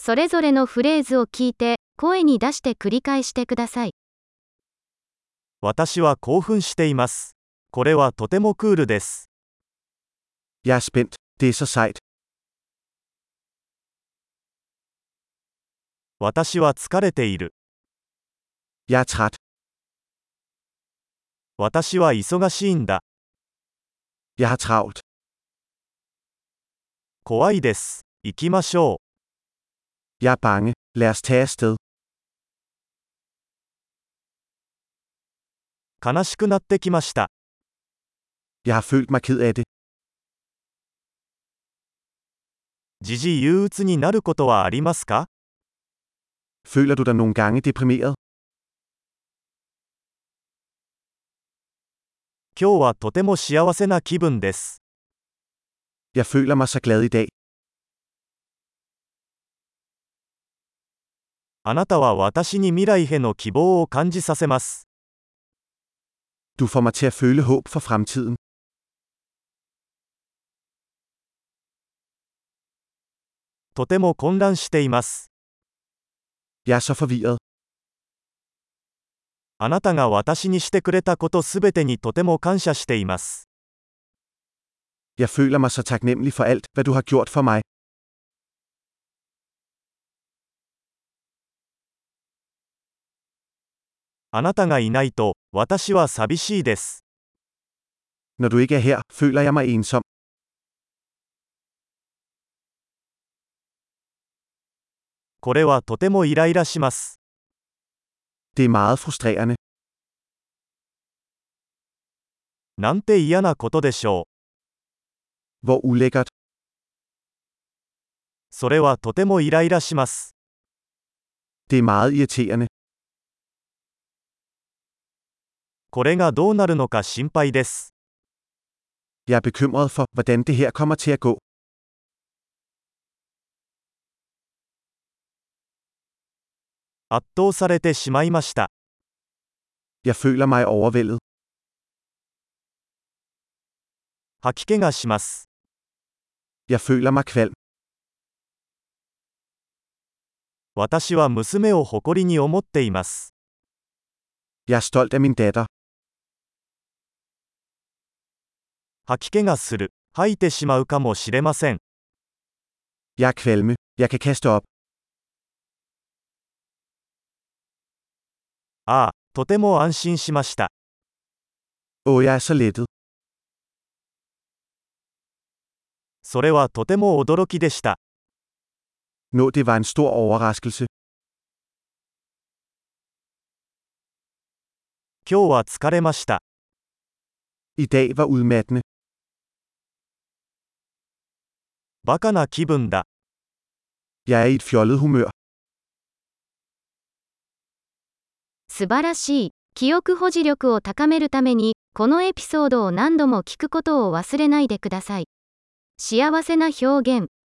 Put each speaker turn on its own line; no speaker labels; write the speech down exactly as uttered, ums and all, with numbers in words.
それぞれのフレーズを聞いて、声に出して繰り返してください。
私は興奮しています。これはとてもクールです。
Jeg er spændt. Det er så sejt.
私は疲れている。
Jeg er træt.
私は忙しいんだ。
Jeg har travlt.
怖いです。行きましょう。
Jeg er bange. Lad os tage afsted.
悲しくなってきました。
Jeg har følt mig ked af det.
時々憂鬱になることはありますか？
Føler du dig nogle gange deprimeret?
今日はとても幸せな気分です。
Jeg føler mig så glad i dag.
あなたは私に未来への希望を感じさせます。
Du får mig til at føle håb for fremtiden.
とても混乱しています。
Jeg er så forvirret.
あなたが私にしてくれたことすべてにとても感謝しています。
Jeg føler mig så taknemmelig for alt, hvad du har gjort for mig.
あなたがいないと、私は寂しいです。
Når du ikke er her, føler jeg mig ensom.
これはとてもイライラします。
Det er meget frustrerende.
なんて嫌なことでしょう。
Hvor ulækkert.
それはとてもイライラします。
Det er meget irriterende.
これがどうなるのか心配です。
Jeg er bekymret for, hvordan det her kommer til at gå.
圧倒されてしまいました。
Jeg føler mig overvældet.
吐き気がします。
Jeg føler mig kvalm.
私は娘を誇りに思っています。
Jeg er stolt af min datter.
吐き気がする。吐いてしまうかもしれません。
Jeg er kvalme. Jeg kan kaste op.
ああ、とても安心しました。
Åh, jeg er så lettet.
それはとても驚きでした。
Nå, det var en stor overraskelse.
今日は疲れました。
I dag var udmattende.
バカな気分だ。
Jeg er i et fjollet humør.
素晴らしい。記憶保持力を高めるために、このエピソードを何度も聞くことを忘れないでください。幸せな表現。